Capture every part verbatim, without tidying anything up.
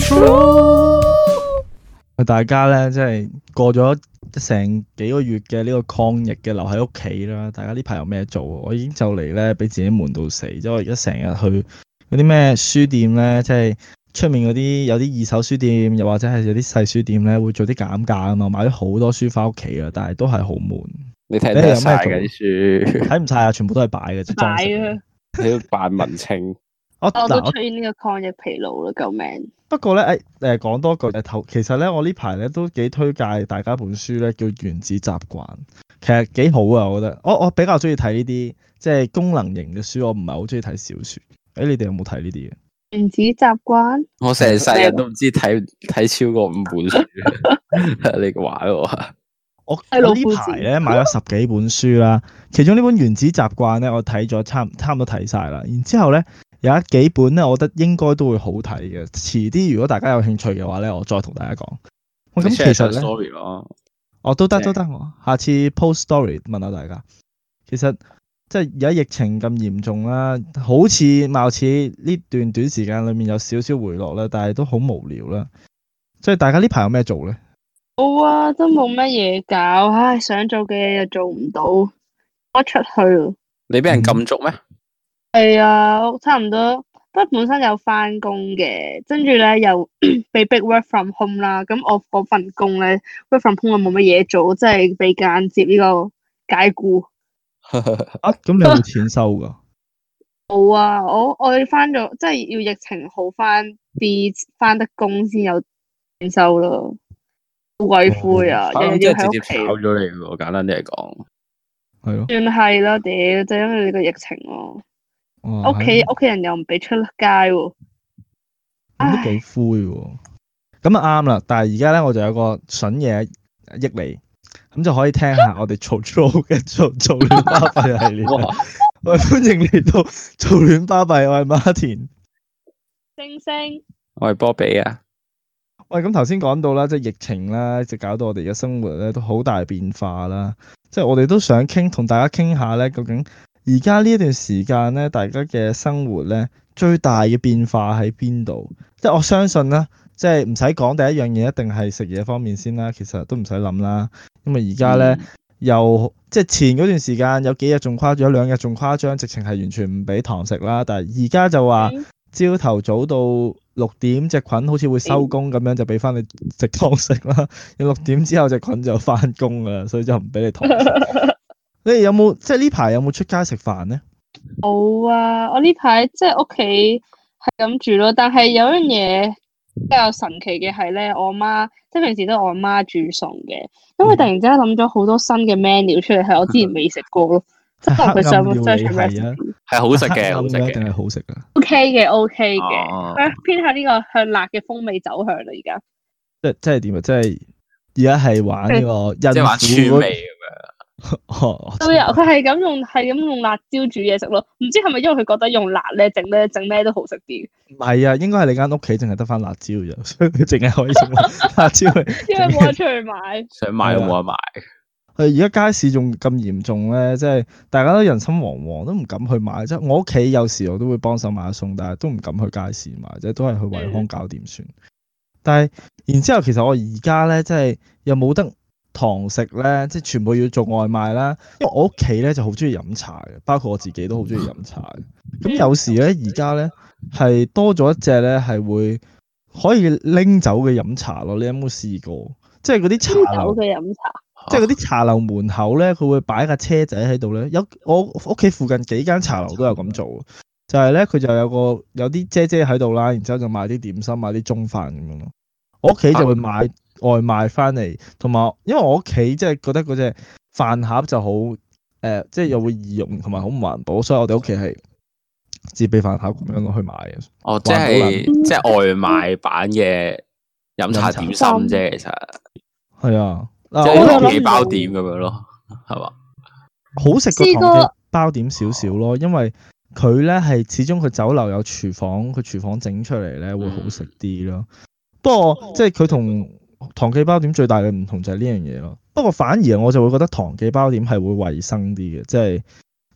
大家咧，即係過咗成幾個月嘅呢個抗疫嘅留喺屋企啦。大家呢排有咩做？我已經就嚟咧俾自己悶到死，因為我而家成日去嗰啲咩書店咧，即係出面嗰啲有啲二手書店，又或者係有啲細書店咧，會做啲減價啊嘛。買咗好多書翻屋企啊，但係都係好悶。 你睇得晒嘅啲書， 睇唔晒啊，全部都係擺嘅，裝飾嘅。 你要扮文青。 我我都出現呢個抗疫疲勞啦，救命！ 不過咧，誒誒講多句誒頭，其實咧我呢排咧都幾推介大家本書咧，叫《原子習慣》，其實幾好啊，我覺得。我我比較中意睇呢啲即係功能型嘅書，我唔係好中意睇小説。誒、欸，你哋有冇睇呢啲嘅？ 原子習慣， 我成世人都唔知睇睇超過五本書，你話喎。 我我呢排咧買咗十幾本書啦，其中呢本《原子習慣》咧，我睇咗差差唔多睇晒啦。然之後咧。有一幾本咧，我覺得應該都會好睇嘅。遲啲如果大家有興趣嘅話咧，我再同大家講。咁其實咧， story 咯， 哦都得都得，我下次 post story 問下大家。其實即係而家疫情咁嚴重啦，好似貌似呢段短時間裏面有少少回落啦，但係都好無聊啦。所以大家呢排有咩做咧？ 冇啊，都冇乜嘢搞，唉，想做嘅嘢又做唔到，我出去。 你俾人禁足咩？ 係啊，差唔多。不過本身有翻工嘅，跟住咧又被逼 work from home 啦。咁我嗰份工咧 work from home 又冇乜嘢做，即係被間接呢個解僱。 啊，咁你有冇錢收噶？ 冇啊，我我翻咗，即係要疫情好翻啲，翻得工先有錢收咯。好鬼灰啊！日日要喺屋企。 炒咗你喎，簡單啲嚟講。係咯。 算係啦，屌，就因為呢個疫情咯。屋企屋企人又唔俾出街喎， 咁都幾灰喎。咁啊啱啦，但係而家咧我就有個筍嘢益你，咁就可以聽下我哋嘈嘈嘅嘈嘈亂巴閉系列。我哋歡迎嚟到嘈亂巴閉，我係馬田。 星星， 我係波比啊。 喂，咁頭先講到啦，即係疫情啦，就搞到我哋嘅生活咧都好大變化啦。即係我哋都想傾，同大家傾下咧，究竟而家呢一段時間咧，大家嘅生活咧最大嘅變化喺邊度？即係我相信啦，即係唔使講第一樣嘢，一定係食嘢方面先啦。其實都唔使諗啦，因為而家咧、嗯、又即係前嗰段時間有幾日仲誇張，有兩日仲誇張，直情係完全唔俾堂食啦。但係而家就話朝頭早到六點，隻菌好似會收工咁樣，就俾翻你食堂食啦。六點之後隻菌就翻工啦，所以就唔俾你堂食。你哋有冇即係呢排有冇出街食飯咧？ 冇啊！我呢排即係屋企係咁住咯，但係有樣嘢比較神奇嘅係咧，我媽即係平時都係我媽煮餸嘅，咁佢突然之間諗咗好多新嘅 menu 出嚟，係我之前未食過咯。即係佢上網 search 係好食嘅，好食嘅定係好食噶 ？OK 嘅，OK 嘅，佢偏向呢個向辣嘅風味走向啦，而家。 即係即係點啊？即係而家係玩呢個即係玩川味咁樣。 都有，佢係咁用，係咁用辣椒煮嘢食咯。唔知係咪因為佢覺得用辣咧，整咧整咩都好食啲？ 唔係啊，應該係你間屋企淨係得翻辣椒啫，所以佢淨係可以用辣椒去。 因為冇得出去買， 想買都冇得買。 係而家街市仲咁嚴重咧，即係大家都人心惶惶，都唔敢去買。即係我屋企有時我都會幫手買餸，但係都唔敢去街市買，即係都係去惠康搞掂算。嗯、但係然之後，其實我而家咧，即係又冇得堂食咧，即係全部要做外賣啦。因為我屋企咧就好中意飲茶嘅，包括我自己都好中意飲茶嘅。咁有時咧，而家咧係多咗一隻咧係會可以拎走嘅飲茶咯。你有冇試過？即係嗰啲茶樓嘅飲茶。 即係嗰啲茶樓門口咧，佢會擺架車仔喺度咧。有我屋企附近幾間茶樓都有咁做，就係咧佢就有個有啲姐姐喺度啦，然之後就賣啲點心、買啲中飯咁樣咯。我屋企就會買外賣翻嚟，同埋因為我屋企即係覺得嗰隻飯盒就好誒、呃，即係又會易用同埋好唔環保，所以我哋屋企係自備飯盒咁樣落去買嘅。 哦，即係即係外賣版嘅飲茶點心啫，其實係啊。 即係糖記包點咁樣咯，係嘛？ 好食過糖記包點少少咯，因為佢咧係始終佢酒樓有廚房，佢廚房整出嚟咧會好食啲咯。不過即係佢同糖記包點最大嘅唔同就係呢樣嘢咯。不過反而我就會覺得糖記包點係會衞生啲嘅，即係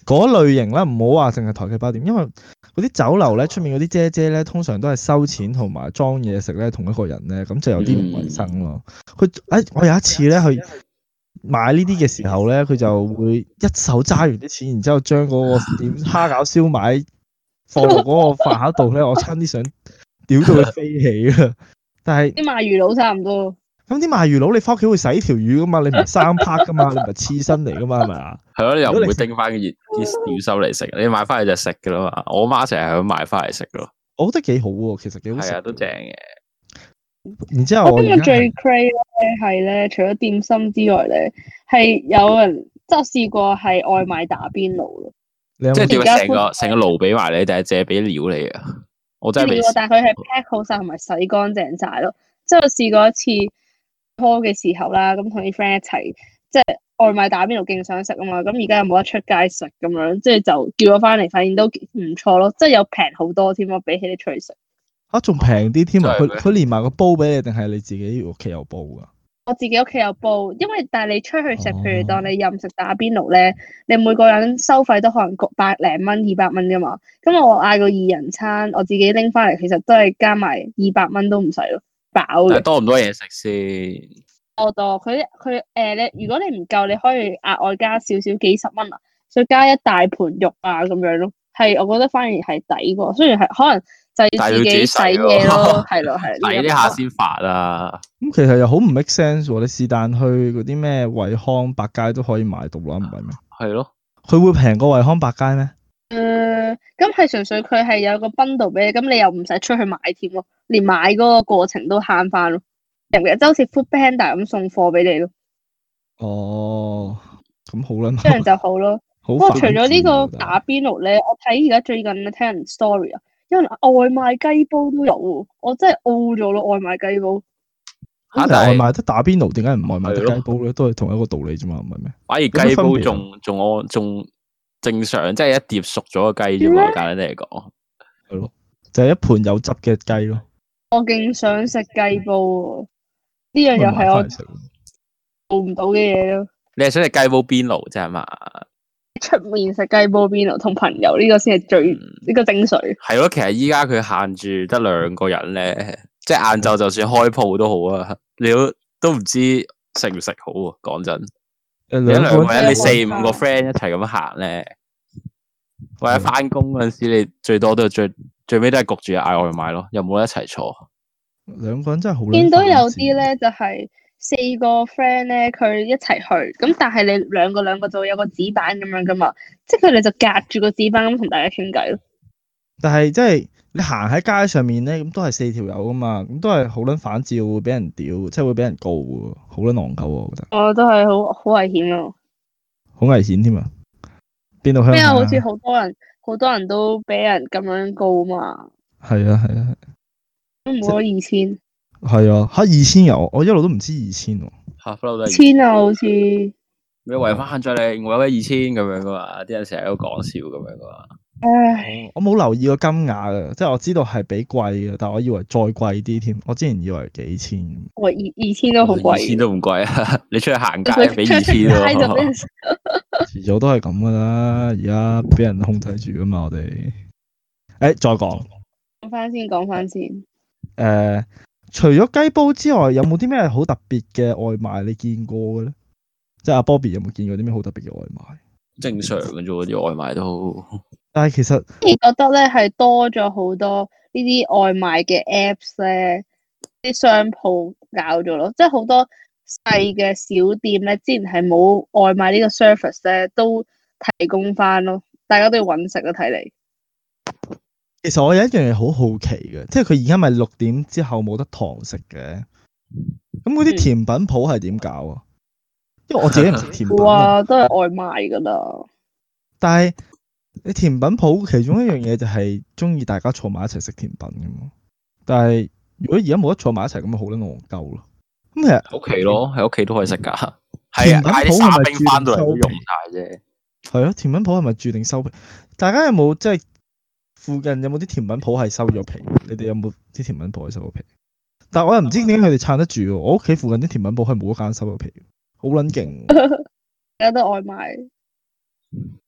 嗰類型啦，唔好話淨係台記包店，因為嗰啲酒樓咧出面嗰啲姐姐咧，通常都係收錢同埋裝嘢食咧同一個人咧，咁就有啲唔衞生咯。佢誒、哎，我有一次咧去買呢啲嘅時候咧，佢就會一手揸完啲錢，然之後將嗰個點蝦餃燒賣放落嗰個飯盒度咧，我差啲想屌到佢飛起啊！但係啲賣魚佬差唔多。 咁啲賣魚佬，你翻屋企會洗條魚噶嘛？你唔係生拍噶嘛？你唔係刺身嚟噶嘛？係咪啊？ 係咯，你又唔會叮翻啲熱啲鳥收嚟食，你買翻嚟就食噶啦嘛。我媽成日係咁買翻嚟食咯。 我覺得幾好喎，其實幾好食。 係啊，都正嘅。 然之後我我覺得最 crazy 咧係咧，除咗點心之外咧，係有人即係我試過係外賣打邊爐咯。 你有冇即係點而家啊？成個成個爐俾埋你，定係借俾料你啊？我真係未料，但係佢係 pack 好晒同埋洗乾淨晒咯。即係我試過一次拖嘅時候啦，咁同啲 friend 一齊，即係外賣打邊爐勁想食啊嘛。咁而家又冇得出街食咁樣，即係就叫咗翻嚟，發現都唔錯咯。即係有平好多添咯，比起你出去食。 啊，仲平啲添啊！佢真係咩佢連埋個煲俾你，定係你自己屋企有煲噶？ 我自己屋企有煲，因為但係你出去食， 哦譬如當你任食打邊爐咧，你每個人收費都可能百零蚊、二百蚊噶嘛。咁我嗌個二人餐，我自己拎翻嚟，其實都係加埋二百蚊都唔使咯，飽嘅。 但係多唔多嘢食先？ 多多，佢佢誒，你如果你唔夠，你可以額外加少少幾十蚊啊，再加一大盤肉啊咁樣咯。係，我覺得反而係抵過，雖然係可能就要自己洗嘢咯，係咯係。 洗呢下先發啊！ 咁其實又好唔 make sense 喎。你是但去嗰啲咩惠康百佳都可以買到啦，唔係咩？ 係咯， 佢會平過惠康百佳咩？ 誒，咁係純粹佢係有個 bundle 俾你，咁你又唔使出去買添咯，連買嗰個過程都慳翻咯。日日就好似 Food Panda 咁送貨俾你咯， 哦，咁好啦， 這樣就好咯。 好不過除反咗呢智啊個打邊爐咧，我睇而家最近咧聽人 story 啊，因為外賣雞煲都有喎，我真係 O 咗咯，外賣雞煲。 嚇！ 但係但係外賣得打邊爐，點解唔外賣得係咯雞煲咧？都係同一個道理啫嘛，唔係咩？ 反而有咩雞煲分別啊仲仲我仲正常，即係一碟熟咗嘅雞啫嘛。簡單啲嚟講， 係咯，就係一盤有汁嘅雞咯。 我勁想食雞煲喎，呢樣又咁咪買係我返嚟食咯做唔到嘅嘢咯。 你係想食雞煲邊爐啫係嘛？ 出面食雞煲邊爐同朋友呢個先係最呢個精髓。 係咯，其實依家佢限住得兩個人咧，即係晏晝就算開鋪都好啊，你都都唔知食唔食好啊。講真， 誒你一兩個人兩個人，你四五個 friend 一齊咁行咧，或者翻工嗰陣時，你最多都係最最尾都係焗住嗌外賣咯，又冇得一齊坐。 兩個人真係好撚見到有犯賤啲咧就係四個 friend 咧，佢一齊去，咁但係你兩個兩個就會有個紙板咁樣噶嘛，即係佢哋就隔住個紙板咁同大家傾偈咯。 但係即係你行喺街上面咧，咁都係四條友噶嘛，咁都係好撚反照，會俾人屌，即係會俾人告喎，好撚戇鳩喎，我覺得我都係好好危險咯。 好危險添啊！邊度鄉咩啊？ 下？ 好似好多人好多人都俾人咁樣告嘛， 係啊係啊都冇咗二千。 係啊，嚇二千有，我一路都唔知二千喎。 吓，不嬲都係千啊，好似咩違反限聚令，我有咩二千咁樣噶嘛？啲人成日都講笑咁樣噶嘛。 唉， 我冇留意個金額啊，即係我知道係比貴嘅，但係我以為再貴啲添。我之前以為幾千。 喂，二二千都好貴。 二千都唔貴啊！你出去行街佢俾二千出街就俾人喎。 遲早都係咁噶啦，而家俾人控制住噶嘛，我哋。誒、再講講翻先，講翻先。 誒，除咗雞煲之外，有冇啲咩好特別嘅外賣你見過嘅咧？即係阿 Bobby 有冇見過啲咩好特別嘅外賣？ 正常嘅啫喎，啲外賣都。 但係其實而覺得咧係多咗好多呢啲外賣嘅 apps 咧，啲商鋪搞咗咯，即係好多細嘅小店咧，之前係冇外賣呢個 service 咧，都提供翻咯，大家都要揾食啊，睇嚟。 其實我有一樣嘢好好奇嘅，即係佢而家咪六點之後冇得堂食嘅，咁嗰啲甜品鋪係點搞啊？因為我自己唔食甜品啊， 哇，都係外賣噶啦。 但係你甜品鋪其中一樣嘢就係中意大家坐埋一齊食甜品噶嘛。但係如果而家冇得坐埋一齊，咁咪好撚戇鳩咯。咁其實喺屋企咯，喺屋企都可以食噶。係啊， 甜品嗌啲鋪係咪沙冰翻到嚟都注定收用晒啫。 係咯，甜品鋪係咪注定收皮？大家有冇即係附近有冇啲甜品鋪係收咗皮？你哋有冇啲甜品鋪係收咗皮？但係我又唔知點解佢哋撐得住喎。我屋企附近啲甜品鋪係冇一間收咗皮，好撚勁。 有得外賣。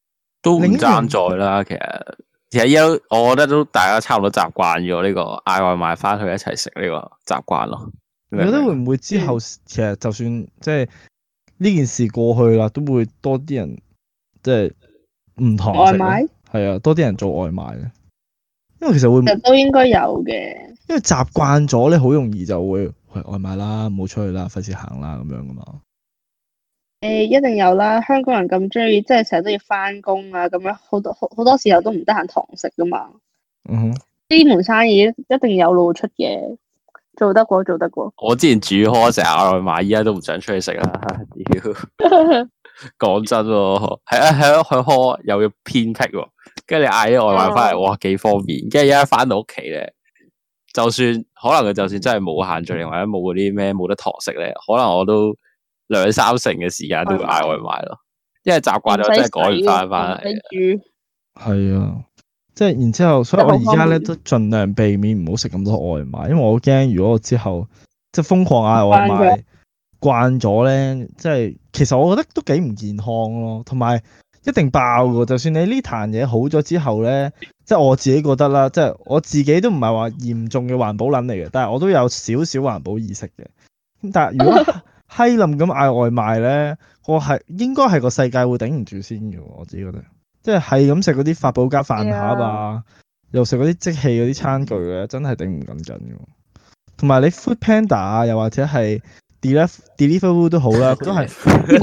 都唔另一樣爭在啦。其實其實依家我覺得都大家差唔多習慣咗呢個嗌外賣翻去一齊食呢個習慣咯。 你覺得會唔會之後其實就算即係呢件事過去啦，都會多啲人即係唔堂食咧？ 外賣係啊，多啲人做外賣咧，因為其實會其實都應該有嘅。 因為習慣咗咧，好容易就會喂外賣啦，唔好出去啦，費事行啦咁樣噶嘛。 誒，一定有啦！香港人咁中意，即係成日都要翻工啊，咁樣好多好好多時候都唔得閒堂食噶嘛。 嗯哼， 呢門生意一定有路出嘅，做得過做得過。 我之前煮開成日嗌外賣，依家都唔想出去食啦。屌，講真喎，係啊係啊，去開又要偏僻喎，跟住你嗌啲外賣翻嚟，哇幾方便。跟住而家翻到屋企咧，就算可能佢就算真係冇限聚令或者冇嗰啲咩冇得堂食咧，可能我都兩三成嘅時間都會嗌外賣咯，因為習慣咗真係趕唔翻翻嚟。 煮係啊，即係然之後，所以我而家咧都盡量避免唔好食咁多外賣，因為我好驚如果我之後即係瘋狂嗌外賣慣咗咧，即係其實我覺得都幾唔健康咯，同埋一定爆噶。就算你呢壇嘢好咗之後咧，即係我自己覺得啦，即係我自己都唔係話嚴重嘅環保撚嚟嘅，但係我都有少少環保意識嘅。咁但係如果閪冧咁嗌外賣咧，我係應該係個世界會頂唔住先嘅，我自己覺得。即係係咁食嗰啲發泡膠飯盒啊，又食嗰啲即棄嗰啲餐具咧，真係頂唔緊緊嘅。同埋你 Food Panda 啊，又或者係 Deliver Deliveroo 都好啦，都係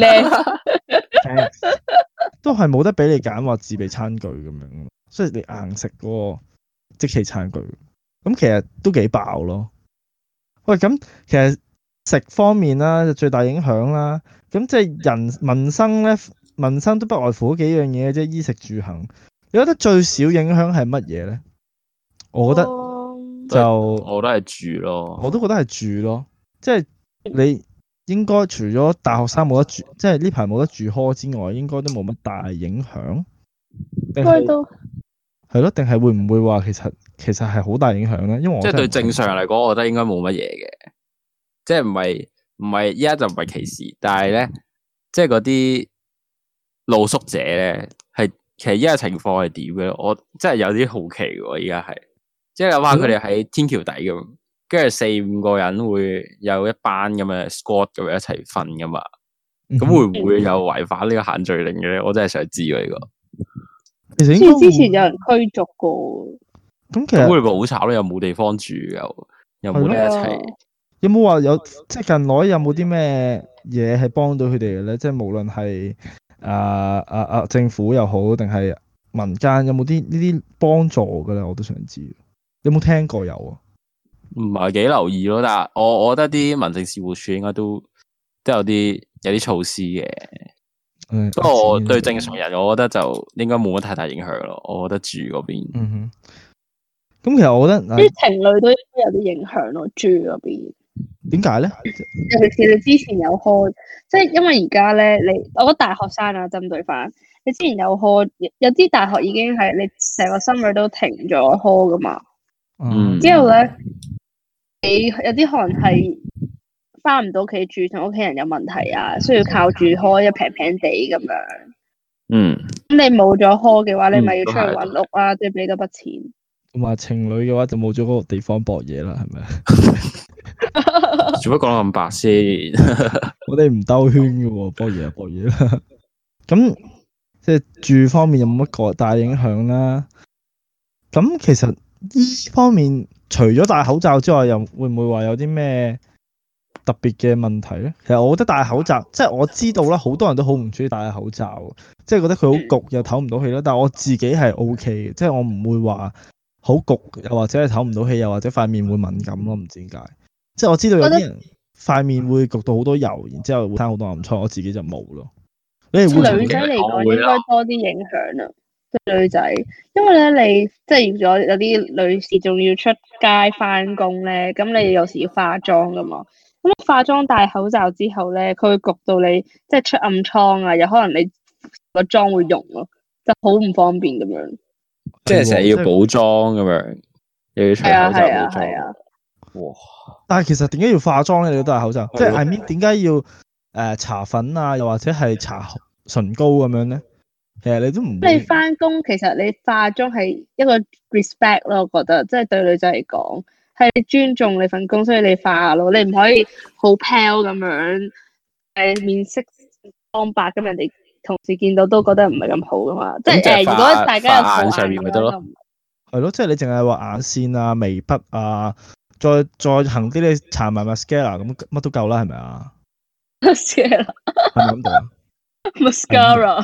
都係冇得俾你揀話自備餐具咁樣，所以你硬食嗰個即棄餐具，咁其實都幾爆咯。喂，咁其實食方面啦，最大影響啦，咁即係人民生咧，民生都不外乎嗰幾樣嘢，即係衣食住行。你覺得最少影響係乜嘢咧？我覺得就我都係住咯， 我都覺得係住咯，即係你應該除咗大學生冇得住，即係呢排冇得住 hall 之外，應該都冇乜大影響。 應該都係咯，定係會唔會話其實其實係好大影響咧？因為我即係對正常人嚟講，我覺得應該冇乜嘢嘅，即係唔係唔係依家就唔係歧視，但係咧，即係嗰啲露宿者咧，係其實依家情況係點嘅咧？我真係有啲好奇喎，依家係即係諗下佢哋喺天橋底咁，跟住四五個人會有一班咁嘅 squad 咁樣一齊瞓噶嘛？咁、嗯、會唔會有違反呢個限聚令嘅咧？我真係想知喎呢、這個。 其實應該之前有人驅逐過。 咁其實會唔會好慘咧？又冇地方住，又又冇得一齊。 有冇話有即係近來有冇啲咩嘢係幫到佢哋嘅咧？即係無論係啊啊啊政府又好，定係民間有冇啲呢啲幫助嘅咧？我都想知。有冇聽過有啊？ 唔係幾留意咯，但係我我覺得啲民政事務處應該都都有啲有啲措施嘅。 嗯， 不過我對正常人，我覺得就應該冇乜太大影響咯。我覺得住嗰邊， 嗯哼。咁其實我覺得啲情侶都有啲影響咯，住嗰邊。 點解咧？ 尤其是你之前有開，即係因為而家咧，你我覺得大學生啊，針對翻你之前有開，有啲大學已經係你成個 summer 都停咗開噶嘛。 嗯。 之後咧，你有啲可能係翻唔到屋企住，同屋企人有問題啊，需要靠住開一平平地咁樣。 嗯。 咁你冇咗開嘅話，你咪要出去揾屋啊，即係俾多筆錢。 同埋情侶嘅話就冇咗嗰個地方博嘢啦，係咪？ 做乜講到咁白先？ 我哋唔兜圈嘅喎，博嘢就博嘢啦。咁即係住方面有冇乜個大影響啦？咁其實依方面除咗戴口罩之外，又會唔會話有啲咩特別嘅問題咧？其實我覺得戴口罩，即係我知道啦，好多人都好唔中意戴口罩，即係覺得佢好焗又唞唔到氣啦。但係我自己係 O K 嘅，即係我唔會話好焗，又或者係唞唔到氣，又或者塊面會敏感咯，唔知點解。即係我知道有啲人塊面會焗到好多油，然之後會生好多暗瘡，我自己就冇咯。你哋會女仔嚟講應該多啲影響啊，即係女仔，因為咧你即係如果有啲女士仲要出街翻工咧，咁你有時要化妝噶嘛，咁化妝戴口罩之後咧，佢會焗到你即係出暗瘡啊，有可能你個妝會溶咯，就好唔方便咁樣。 即係成日要補妝咁樣，又要除口罩補妝。哇！ 但係其實點解要化妝咧？你都戴口罩，即係 I mean 點解要誒搽粉啊，又或者係搽唇膏咁樣咧？ 其實你都唔你會翻工其實你化妝係一個 respect 咯，我覺得即係對女仔嚟講係你尊重你份工，所以你化咯，你唔可以好 pale 咁樣，誒面色蒼白咁，人哋同事見到都覺得唔係咁好噶嘛。即係誒， 咁就係如果大家有化眼素顏上面咪得咯嘅話就唔係咯，即係你淨係話眼線啊、眉筆啊，再再行啲你搽埋 mascara 咁乜都夠啦，係咪啊？ mascara 係咪咁讀啊 mascara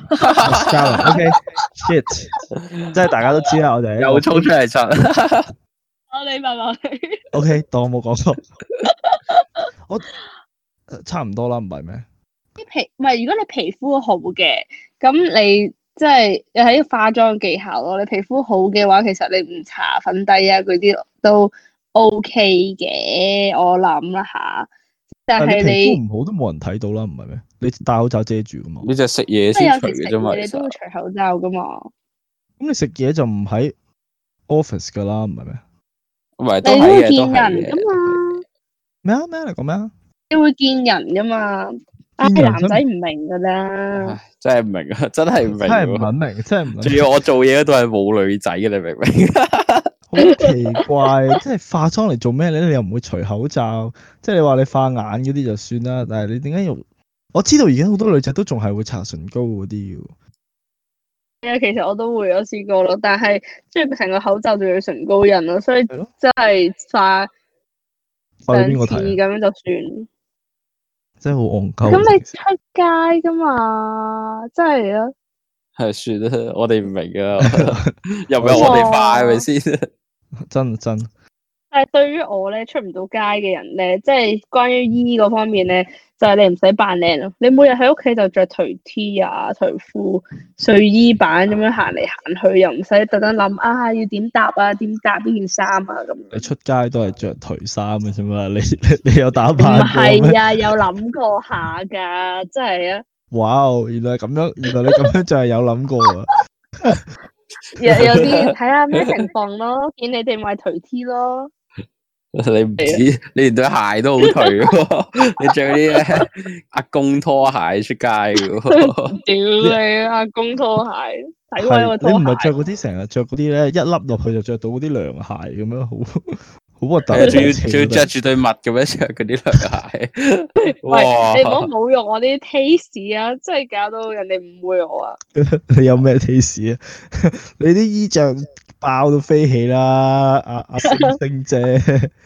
？mascara，OK，shit，即係大家都知啦，我哋又衝出嚟柒。 我你問我你 OK，當我冇講錯，我呃差唔多啦，唔係咩？ 啲皮唔係，如果你皮膚好嘅，咁你即係又係啲化妝技巧咯。你皮膚好嘅話，其實你唔搽粉底啊嗰啲都 OK 嘅，我諗啦吓。但係但係你皮膚你唔好都冇人睇到啦，唔係咩？你戴口罩遮住噶嘛？ 你就食嘢即係有先除嘅啫嘛， 時食嘢你其實都會除口罩噶嘛。 咁你食嘢就唔喺 office 噶啦，唔係咩？ 唔係都你都會係嘅，都係見人噶嘅。 嘛， 咩啊咩啊？你講咩啊？ 你會見人噶嘛。唉， 見人真男仔唔明噶啦。 唉，真係唔明啊，真係唔明真係唔喎。 肯明，真係唔肯仲明， 要我做嘢嗰度係冇女仔嘅，你明唔明？ 好奇怪，即係化妝嚟做咩咧？你又唔會除口罩，即係你話你化眼嗰啲就算啦，但係你點解要？我知道而家好多女仔都仲係會搽唇膏嗰啲嘅。 係啊，其實我都會有試過咯，但係即係成個口罩仲要唇膏印咯，所以係咯， 真係化化兩次俾邊個睇啊？ 咁樣就算。 真係好戇鳩。 咁你出街噶嘛，真係啊！ 係算啦，我哋唔明噶，又唔係我哋化係咪先？ 真真但係對於我咧出唔到街嘅人咧，即係關於醫嗰方面咧，就係、你唔使扮靚咯，你每日喺屋企就着頹 T 啊、頹褲、睡衣版咁樣行嚟行去，又唔使特登諗啊要點搭啊、點搭呢件衫啊咁。 你出街都係着頹衫嘅啫嘛，你你你有打唔扮過咩？ 係啊，有諗過下㗎，真係啊！ 哇哦，原來係咁樣，原來你咁樣就係有諗過啊！ 有有啲睇下咩情況咯，見你哋買頹 T 咯。 你唔止，你連對鞋都好頹喎，你着嗰啲咧阿公拖鞋出街嘅喎。 屌你阿公拖鞋，睇開係個拖鞋。 你唔係着嗰啲成日着嗰啲咧，一笠落去就着到嗰啲涼鞋咁樣，好好核突。 係啊，仲要仲要着住對襪咁樣着嗰啲涼鞋。 喂， 哇！ 你唔好侮辱我啲 taste 啊！真係搞到人哋誤會我啊！ 你有咩 taste 啊？你啲衣着爆到飛起啦，阿阿星星姐。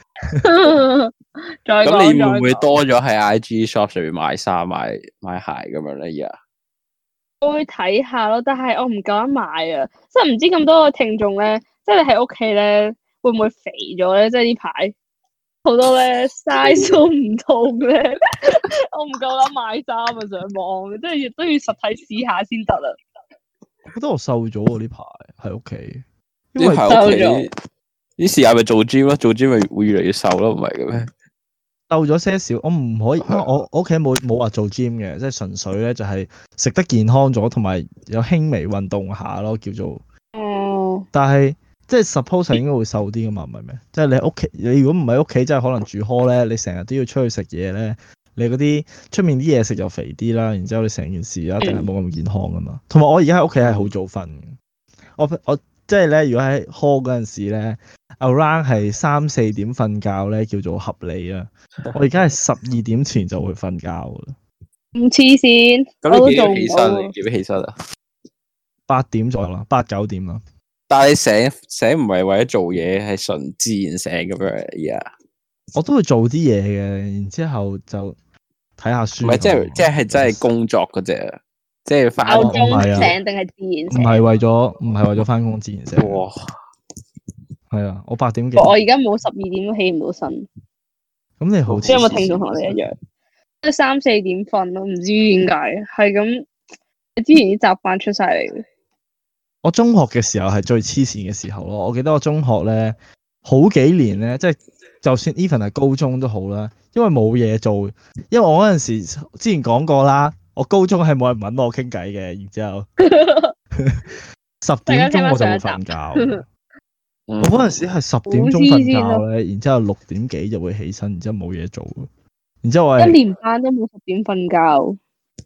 再咁講你會唔會再講多咗喺 I G shop 上面買衫、買買鞋咁樣咧？而家我會睇下咯，但係我唔夠膽買啊！即係唔知咁多個聽眾咧，即係你喺屋企咧，會唔會肥咗咧？即係呢排好多咧 size 都唔同咧，我唔夠膽買衫啊！上網即係都要實體試下先得啦。 我覺得我瘦咗喎呢排喺屋企，因呢為排屋企瘦咗啲時間咪做 gym 咯，做 gym 咪會越嚟越瘦咯，唔係嘅咩？ 瘦咗些少，我唔可以，因為我我屋企冇冇話做 gym 嘅，即係純粹咧就係食得健康咗，同埋有輕微運動下咯，叫做。 哦， 但係即係 suppose 係應該會瘦啲噶嘛，唔係咩？即係你屋企，你如果唔喺屋企，即係可能住 hall 咧，你成日都要出去食嘢咧，你嗰啲出面啲嘢食又肥啲啦，然之後你成件事一定係冇咁健康噶嘛。同埋我而家喺屋企係好早瞓嘅，我我即係咧，如果喺 hall 嗰陣時咧 ，around 係三四點瞓覺咧，叫做合理啊。我而家係十二點前就會瞓覺噶啦， 咁黐線，我咁你幾都做唔點起身？ 到你。幾點起身啊？ 八點左右啦，八九點啦。 但係你醒醒唔係為咗做嘢，係純自然醒咁樣而家。 我都會做啲嘢嘅，然之後就睇下書。 唔係即係即係真係工作嗰只啊，即係翻鬧唔係啊鐘醒定係自然唔醒？ 係為咗唔係為咗翻工自然醒。 哇！ 係啊，我八點幾。 我而家冇十二點都起唔到身。 咁你好似即係有冇聽眾同我哋一樣，即係三四點瞓咯，唔知點解係咁。之前啲習慣出晒嚟嘅。 我中學嘅時候係最黐線嘅時候咯。我記得我中學咧好幾年咧，即係就算 even 係高中都好啦，因為冇嘢做。因為我嗰陣時之前講過啦，我高中係冇人揾我傾偈嘅，然之後十點鐘我就會瞓覺。我嗰陣時係十點鐘瞓覺咧，然之後六點幾就會起身，然之後冇嘢做。然之後我係一年班都冇十點瞓覺。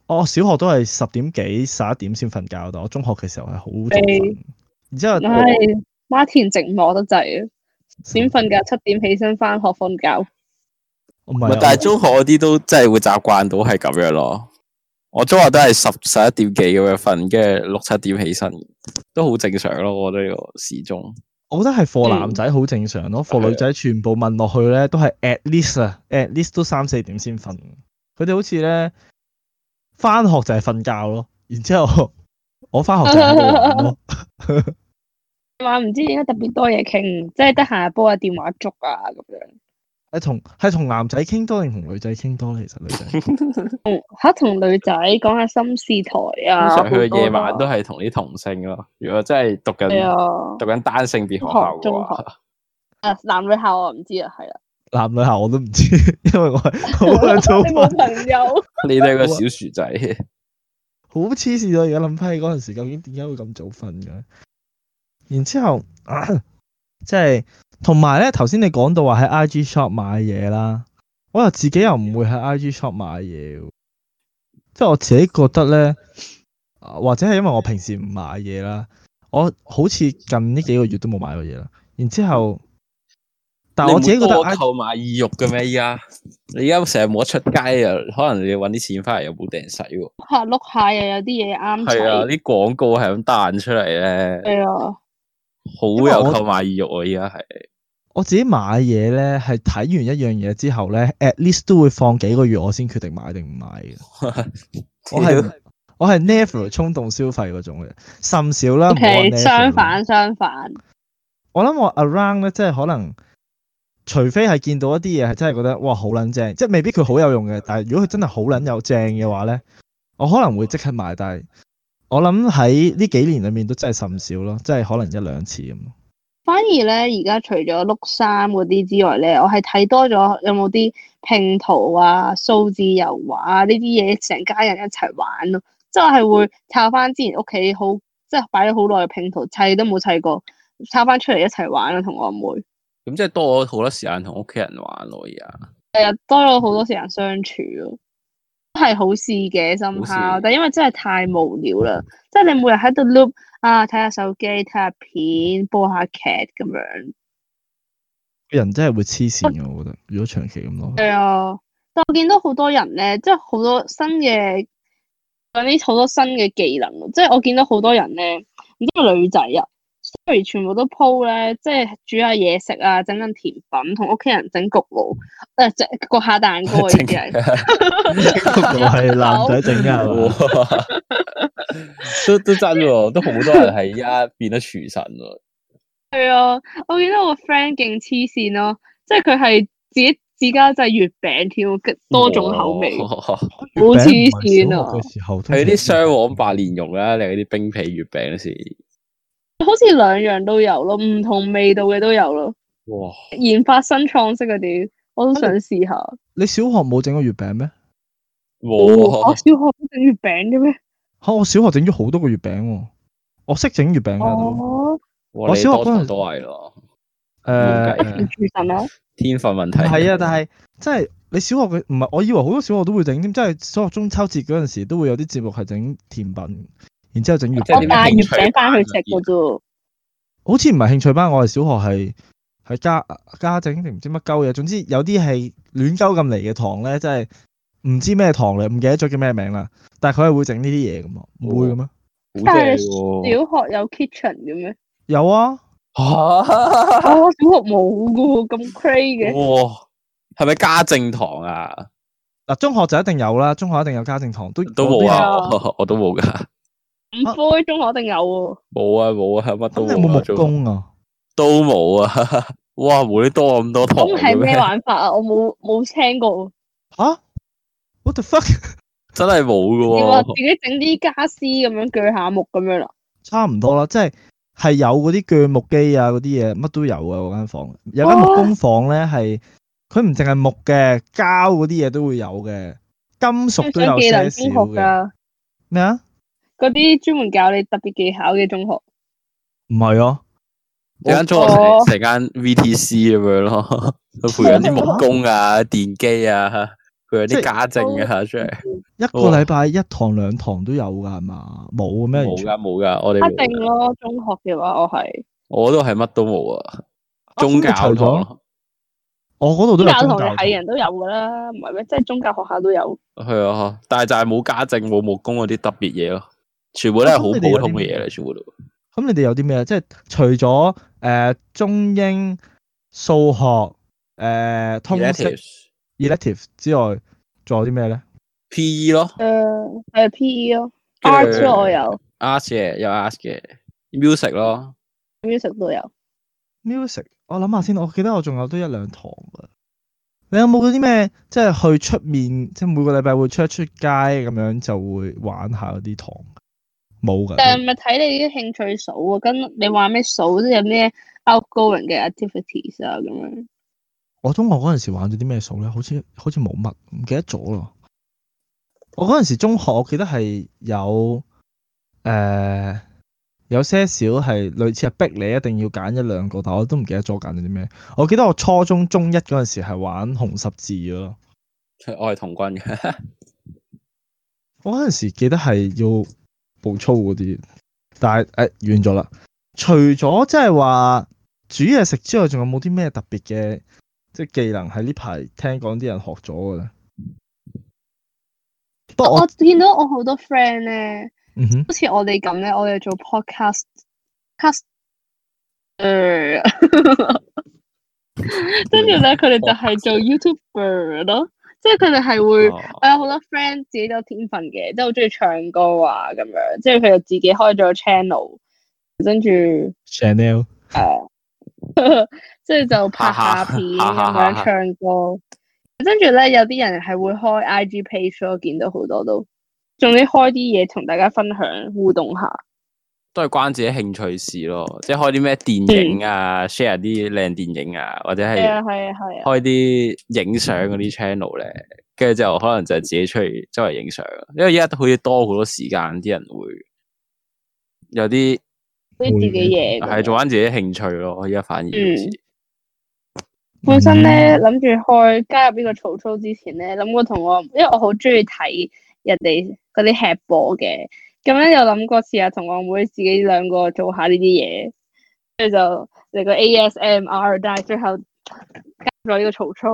我小學都係十點幾十一點先瞓覺，但我中學嘅時候係好早瞓。然之後唉，媽田寂寞得滯啊！點瞓覺七點起身翻學瞓覺。 唔係啊， 但係中學嗰啲都真係會習慣到係咁樣咯。我中學都係十十一點幾咁樣瞓，跟住六七點起身，都好正常咯。我覺得呢個時鐘。 我覺得係課男仔好正常咯，課、嗯、女仔全部問落去咧都係 at least 啊，at least 都三四點先瞓。佢哋好似咧翻學就係瞓覺咯，然之後我翻學就喺度玩咯。 話唔知點解特別多嘢傾，即係得閒煲下電話粥啊咁樣。 係同係同男仔傾多定同女仔傾多？其實女仔嗯吓同女仔講下心事台啊。 通常佢嘅夜晚都係同啲同性咯。如果真係讀緊、啊、讀緊單性別學校嘅話， 啊男女校我唔知啊，係啦。 男女校我都唔知，因為我係好想做。 你冇朋友？ 你哋個小薯仔， 好黐線啊！而家諗翻起嗰陣時，究竟點解會咁早瞓嘅？然之後，啊、即係同埋咧，頭先你講到話喺 I G shop 買嘢啦，我又自己又唔會喺 I G shop 買嘢，即係我自己覺得咧，或者係因為我平時唔買嘢啦，我好似近呢幾個月都冇買過嘢啦。然之後，但係我自己覺得購買意欲嘅咩？依家你而家成日冇得出街啊，可能你要搵啲錢翻嚟又冇定使喎。 下碌下又有啲嘢啱。 係啊，啲廣告係咁彈出嚟咧。係啊。好有購買意欲啊！依家係我自己買嘢咧，係睇完一樣嘢之後咧 ，at least 都會放幾個月，我先決定買定唔買嘅。我係我係 never 衝動消費嗰種嘅，甚少啦。 Okay，相反相反。 我諗我 around 咧，即係可能，除非係見到一啲嘢係真係覺得哇好撚正，即係未必佢好有用嘅，但係如果佢真係好撚有正嘅話咧，我可能會即刻買，但係。我諗喺呢幾年裏面都真係甚少咯，即係可能一兩次咁。 反而咧，而家除咗碌衫嗰啲之外咧，我係睇多咗有冇啲拼圖啊、數字油畫啊呢啲嘢，成家人一齊玩咯。即係我係會抄翻之前屋企好，即係擺咗好耐嘅拼圖，砌都冇砌過，抄翻出嚟一齊玩咯，同我阿妹。 咁即係多咗好多時間同屋企人玩咯，而家。 係啊，多咗好多時間相處咯。係好事嘅深刻，但因為真係太無聊啦，即係你每日喺度 loop 啊，睇下手機、睇下片、播下劇咁樣， 人真係會黐線嘅，我覺得。如果長期咁咯， 係啊，但我見到好多人咧，即係好多新嘅嗰啲好多新嘅技能，即係我見到好多人咧，唔知係女仔啊。雖然全部都 po 咧，即係煮下嘢食啊，整緊甜品，同屋企人整焗爐，誒，整焗下蛋糕啊，呢啲係。 焗爐係男仔整噶， 都都真喎，都好多人係而家變得廚神喎。 係啊，我見到我個 friend 勁黐線咯，即係佢係自己自家製月餅添，多種口味，好黐線啊！ 係啲雙黃白蓮蓉啦，定係啲冰皮月餅先？ 好似兩樣都有咯，唔同味道嘅都有咯。 哇！ 研發新創式嗰啲，我都想試下。 你小學冇整過月餅咩？ 冇、哦，我小學都整月餅嘅咩？ 吓，我小學整咗好多個月餅，我識整月餅噶。 哦， 我小學嗰陣都係咯。 誒， 廚神啊？ 天分問題。 係啊，但係即係你小學嘅唔係，我以為好多小學都會整添，即係小學中秋節嗰陣時都會有啲節目係整甜品。然之後整月餅， 我帶月餅翻去食嘅啫。 好似唔係興趣班，我係小學係係家家整定唔知乜鳩嘢。總之有啲係亂鳩咁嚟嘅堂咧，即係唔知咩堂嚟，唔記得咗叫咩名啦。但係佢係會整呢啲嘢嘅嘛，唔會嘅咩？ 但係小學有 kitchen 嘅咩？ 有啊。 嚇！ 我小學冇嘅喎，咁 crazy 嘅。 哇！係咪家政堂啊？ 嗱，中學就一定有啦，中學一定有家政堂，都都冇啊，我都冇噶。 五科中學一定有喎。 冇啊冇啊，乜都冇。 咁你有冇木工啊？ 都冇啊！哇，冇你多咁多堂。 咁係咩玩法啊？我冇冇聽過。 吓 ？What the fuck？ 真係冇噶喎。 你話自己整啲家私咁樣鋸下木咁樣啦？ 差唔多啦，即係係有嗰啲鋸木機啊，嗰啲嘢乜都有啊。嗰間房有間木工房咧，係佢唔淨係木嘅，膠嗰啲嘢都會有嘅，金屬都有些少嘅。咩啊？ 嗰啲專門教你特別技巧嘅中學， 唔係啊， 有間中學成成間 V T C 咁樣咯，佢培養啲木工啊、電機啊，佢有啲家政啊出嚟。 一個禮拜一堂兩堂都有㗎係嘛？冇嘅咩？ 冇噶冇噶，我哋一冇㗎定咯，中學嘅話我係我都係乜都冇啊， 啊宗教堂咁你除咗咯， 我嗰度都有教堂宗教堂。 係人都有㗎啦，唔係咩？即係宗教學校都有。 係啊，但係就係冇家政冇木工嗰啲特別嘢咯，全部都係好普通嘅嘢嚟，全部都。 咁你哋有啲咩啊？即係除咗誒、呃、中英數學誒、呃、通識 Electives elective 之外，仲有啲咩咧？ P E 咯誒係 P E 咯跟住 ，art 咯我有 ，art 嘅有 art 嘅，music 咯， ，music 都有。 music，我諗下先，我記得我仲有都一兩堂㗎。你有冇嗰啲咩？即係去出面，即係每個禮拜會出一出街咁樣，就會玩下嗰啲堂。冇㗎。 但係咪睇你啲興趣數啊？跟你話咩數，即係有咩 outgoing 嘅 activities 啊咁樣。 我中學嗰陣時玩咗啲咩數咧？好似好似冇乜，唔記得咗咯。我嗰陣時中學，我記得係有誒、呃、有些少係類似係逼你一定要揀一兩個，但我都唔記得咗揀咗啲咩。我記得我初中中一嗰陣時係玩紅十字咯。 我係童軍嘅， 我嗰陣時記得係要步操嗰啲，但係誒、呃、完咗啦。除咗即係話煮嘢食之外，仲有冇啲咩特別嘅即係技能喺呢排聽講啲人學咗嘅咧？不過我我見到我好多 friend 咧， 嗯哼好似我哋咁咧，我哋做 podcast cast 誒，跟住咧佢哋就係做 YouTuber 咯，即係佢哋係會， 哦我有好多 friend 自己都有天分嘅，即係好中意唱歌啊咁樣，即係佢就自己開咗個 channel，跟住誒， Chanel 即係就拍下片咁樣唱歌。跟住咧，有啲人係會開 I G page 咯，見到好多都，仲要開啲嘢同大家分享互動下。 都係關自己興趣事咯，即係開啲咩電影啊，share 啲靚電影啊，或者係啊係係啊係啊， 開啲影相嗰啲 channel 咧，跟住之後可能就係自己出去周圍影相，因為而家好似多好多時間，啲人會有啲啲自己嘢咁樣。 係做翻自己興趣咯，而家反而好似。 本身咧諗住開加入呢個曹操之前咧，諗過同我，因為我好中意睇人哋嗰啲吃播嘅，咁咧有諗過試下同我妹自己兩個做下呢啲嘢，跟住就嚟個 A S M R， 但係最後加入咗呢個曹操，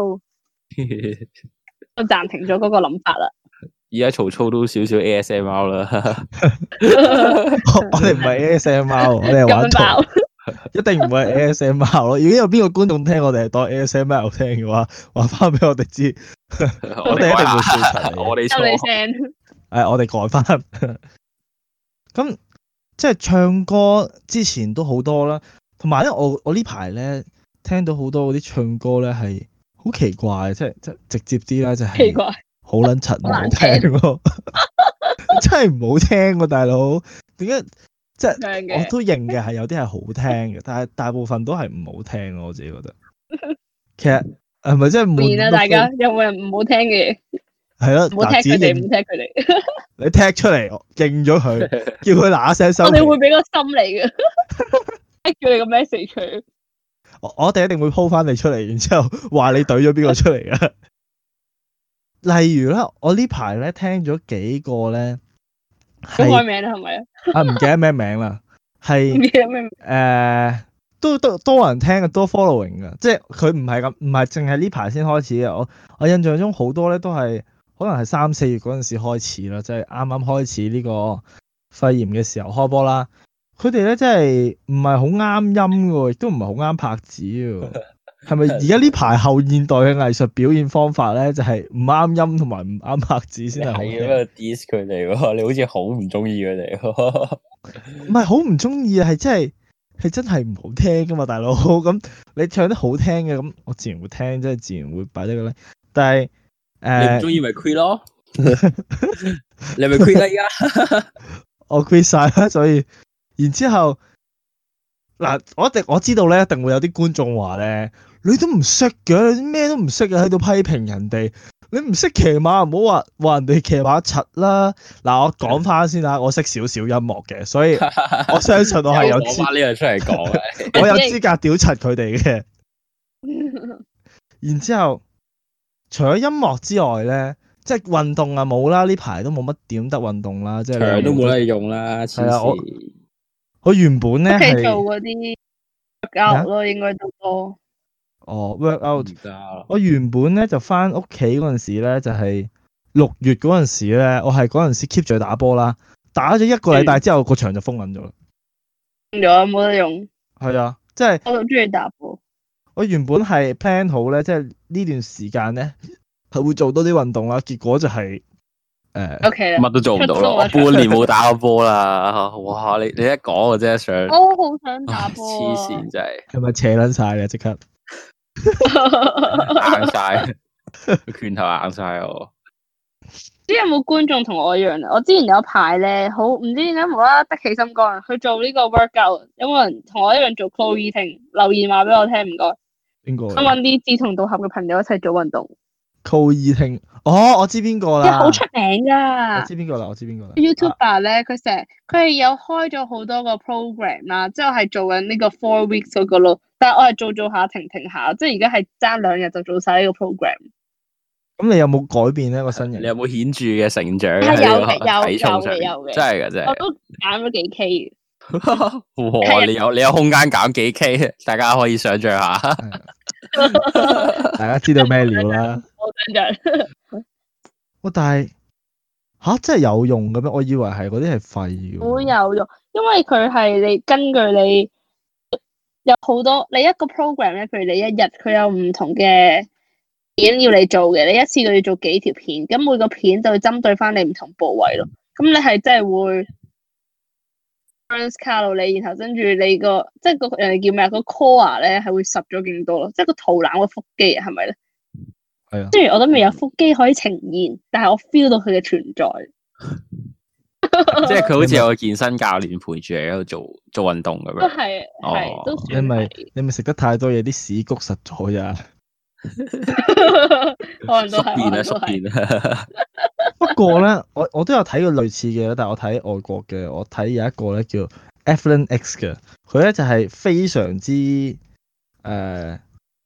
我暫停咗嗰個諗法啦。 而家曹操都少少 A S M R 啦， 我哋唔係 A S M R， 我哋係玩圖， 咁爆， 一定唔係 A S M R 咯。如果有邊個觀眾聽我哋係當 A S M R 聽嘅話，話翻俾我哋知，我哋一定會笑齊你。 我哋收你錯， 聲。 誒，我哋改翻。咁即係唱歌之前都好多啦，同埋咧，我我呢排咧聽到好多嗰啲唱歌咧係好奇怪，即係即係直接啲啦，就係奇怪， 好撚柒唔好好難聽喎，真係唔好聽喎，大佬。點解即係唱嘅我都認嘅係有啲係好聽嘅，但係大部分都係唔好聽咯，我自己覺得。其實係咪真係悶面啊！ 到大家飛有冇人唔好聽嘅嘢？ 係咯， 唔好嗱自己踢佢哋，唔認好踢佢哋。 你踢出嚟，我認咗佢，叫佢嗱嗱聲收皮。 我哋會俾個心嚟嘅，叫你個 message 佢。 我我哋一定會 po 翻你出嚟，然之後話你懟咗邊個出嚟啊？例如咧，我呢排咧聽咗幾個咧， 都開係名啦，係咪啊？ 啊唔記得咩名啦， 唔係記得咩名？ 誒都都多人聽嘅，多 following 嘅，即係佢唔係咁，唔係淨係呢排先開始嘅。我我印象中好多咧都係可能係三四月嗰陣時開始啦，即係啱啱開始呢個肺炎嘅時候開波啦。佢哋咧真係唔係好啱音嘅喎，亦都唔係好啱拍子嘅喎。係咪而家呢排後現代嘅藝術表現方法咧，就係唔啱音同埋唔啱拍子先係好聽？ 係咁樣 diss 佢哋喎，你好似好唔中意佢哋喎。 唔係好唔中意啊，係真係係真係唔好聽噶嘛，大佬。咁你唱得好聽嘅，咁我自然會聽，即係自然會擺低個咧。但係你誒， 唔中意咪 quit 咯，你咪 quit 啦而家。 我 quit 晒啦，所以然之後嗱，我一定我知道咧，一定會有啲觀眾話咧，你都唔識嘅，你咩都唔識嘅，喺度批評人哋，你唔識騎馬，唔好話話人哋騎馬柒啦。嗱，我講翻先啦，我識少少音樂嘅，所以我相信我係有攞資， 翻呢樣出嚟講啊。 我有資格屌柒佢哋嘅。然之後，除咗音樂之外咧， 即係運動啊冇啦，呢排都冇乜點得運動啦，即係場都冇得用啦，黐係啊我線。 我原本咧屋企做係嗰啲 workout 咯，應該都多。 哦 work out， 而家我原本咧就翻屋企嗰陣時咧就係六月嗰陣時咧，我係嗰陣時 keep 住去打波啦，打咗一個禮拜之後個場就封緊咗啦。 用咗冇得用， 係啊，即係我好中意打波。 我原本係 plan 好咧，即係呢段時間咧係會做多啲運動啦，結果就係、誒 O K 啦， 乜都做唔到啦，我半年冇打過波啦。哇！你你一講我真係想， 我好想打唉波黐啊！ 線真係係咪扯撚晒咧？即刻硬晒，拳頭硬晒我。 唔知有冇觀眾同我一樣啊？我之前有排咧，好唔知點解無啦啦得起心肝去做呢個 workout，有冇人同我一樣做 Chloe Ting？留言話俾我聽，唔該。 邊個我揾啲志同道合嘅朋友一齊做運動， ？Call E 聽哦，我知邊個啦， 即係好出名我噶。 知邊個啦，我知邊個啦。 YouTuber 咧，佢成日佢係有開咗好多個 program 啦，之後係做緊呢個 four weeks 嗰個咯，但係我係做做下停停下，即係而家係爭兩日就做晒呢個 program。 咁你有冇改變呢個身形？ 你有冇顯著嘅成長係喺呢有嘅有個體重上面？ 有嘅有嘅真係嘅真係。 我都減咗幾 K 嘅。 哇！你有你有空間減幾 K，大家可以想象下。 大家知道咩料啦？ 我想象哇！但係吓真係有用嘅咩？我以為係嗰啲係廢嘅喎。 好有用，因為佢係你根據你有好多你一個 program 咧，譬如你一日佢有唔同嘅片要你做嘅，你一次佢要做幾條片，咁每個片就會針對翻你唔同部位咯。咁你係真係會 burn 卡路里，然後跟住你個即係個人哋叫咩啊？個 core 咧係會實咗勁多咯，即係個肚腩個腹肌啊，係咪咧？ 係啊， 雖然我都未有腹肌可以呈現，但係我 feel 到佢嘅存在。 即係佢好似有個健身教練陪住你喺度做做運動咁樣。 都係係哦都你咪算係， 你咪食得太多嘢，啲屎谷實咗呀。 可能都係， 縮變啊， 可能都係。 縮變啊！ 不過咧，我我都有睇過類似嘅，但係我睇外國嘅，我睇有一個咧叫 Athlon X 嘅，佢咧就係非常之誒、呃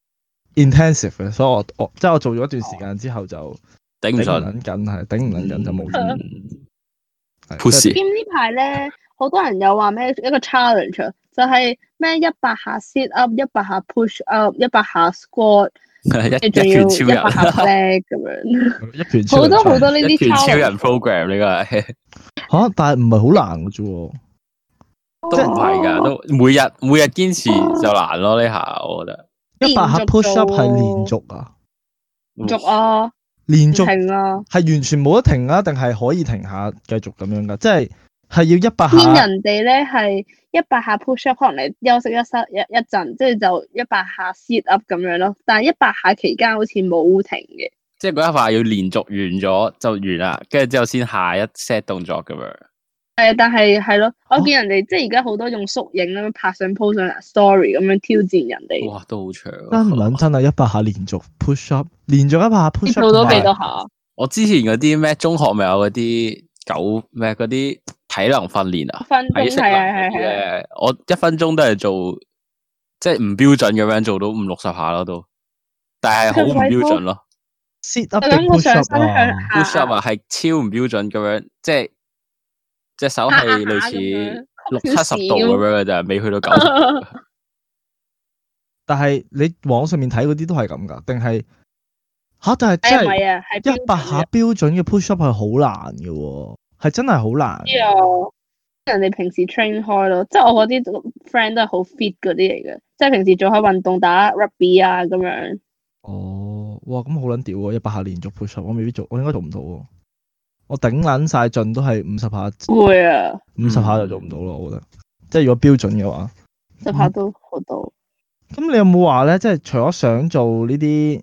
intensive 嘅，所以我我即係我做咗一段時間之後就頂唔頂唔順。 撚緊，係頂唔撚緊就冇咗。 嗯係 Pussy 即係兼呢排咧，好多人有話咩一個 challenge，啊就係咩一百下 sit up，一百下 push up，一百下 squat， 一你仲要一拳超一百下人， flag 咁樣， 一拳超好人多好多呢啲一拳超人 challenge。 program 呢個係嚇，但係唔係好難嘅啫喎。 都唔係㗎，都每日每日堅持就難咯。呢下我覺得一百下連續 push up 做係連續啊， 續啊，唔連續停啊， 係完全冇得停啊，定係可以停下繼續咁樣噶？即係係要一百見下。 人哋咧係一百下 push up，可能你休息一室一一陣，即係就一百下 sit up 咁樣咯。但係一百下期間好似冇停嘅。 即係嗰一塊要連續完咗就完啦，跟住之後先下一 set 動作咁樣。 係，但係係咯，我見人哋即係而家好多用縮影咁樣拍上 post 上 story 咁樣挑戰人哋， 哇，都好長啊。 真唔撚真啊！一百下連續 push up，連續一百下 push 你 up， 做到幾多同埋下？ 我之前嗰啲咩中學咪有嗰啲九咩嗰啲體能訓練啊， 分鐘體適係能嗰啲係係係， 咧，我一分鐘都係做即係唔標準咁樣做到五六十下咯都，但係好唔標準咯。 sit up 我定諗個 push 上 up 身向啊？ 下 push up 啊係超唔標準咁樣，即係隻手係類似六七十度咁樣嘅咋，未去到九十度。 但係你網上面睇嗰啲都係咁噶，定係吓？但係誒真係唔係啊，係一百下標準嘅 push up 係好難嘅喎，係真係好難。 知啊，人哋平時 train 開咯，即係我嗰啲 friend 都係好 fit 嗰啲嚟嘅，即係平時做開運動打 rugby 啊咁樣。 哦，哇，咁好撚屌喎！一百下連續 push up，我未必做，我應該做唔到喎。我頂撚晒盡都係五十下， 會啊， 五十下就做唔到咯。我覺得，即係如果標準嘅話。 十下都好多。 咁你有冇話咧？即係除咗想做呢啲誒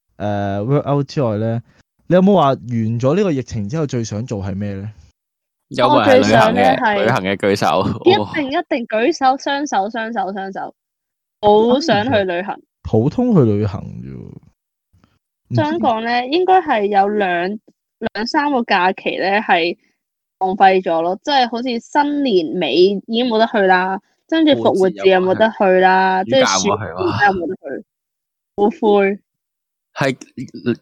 workout 之外咧，你有冇話完咗呢個疫情之後最想做係咩咧？ 有冇人係旅行我最想呢嘅？ 係旅行嘅舉手。 一哇定一定舉手，雙手雙手雙手，好想去旅行。 普通去旅行啫喎。唔知想講咧，應該係有兩兩三個假期咧係浪費咗咯，即係好似新年尾已經冇得去啦，跟住復活節又冇得去啦，即係暑假又冇得去，好灰。 係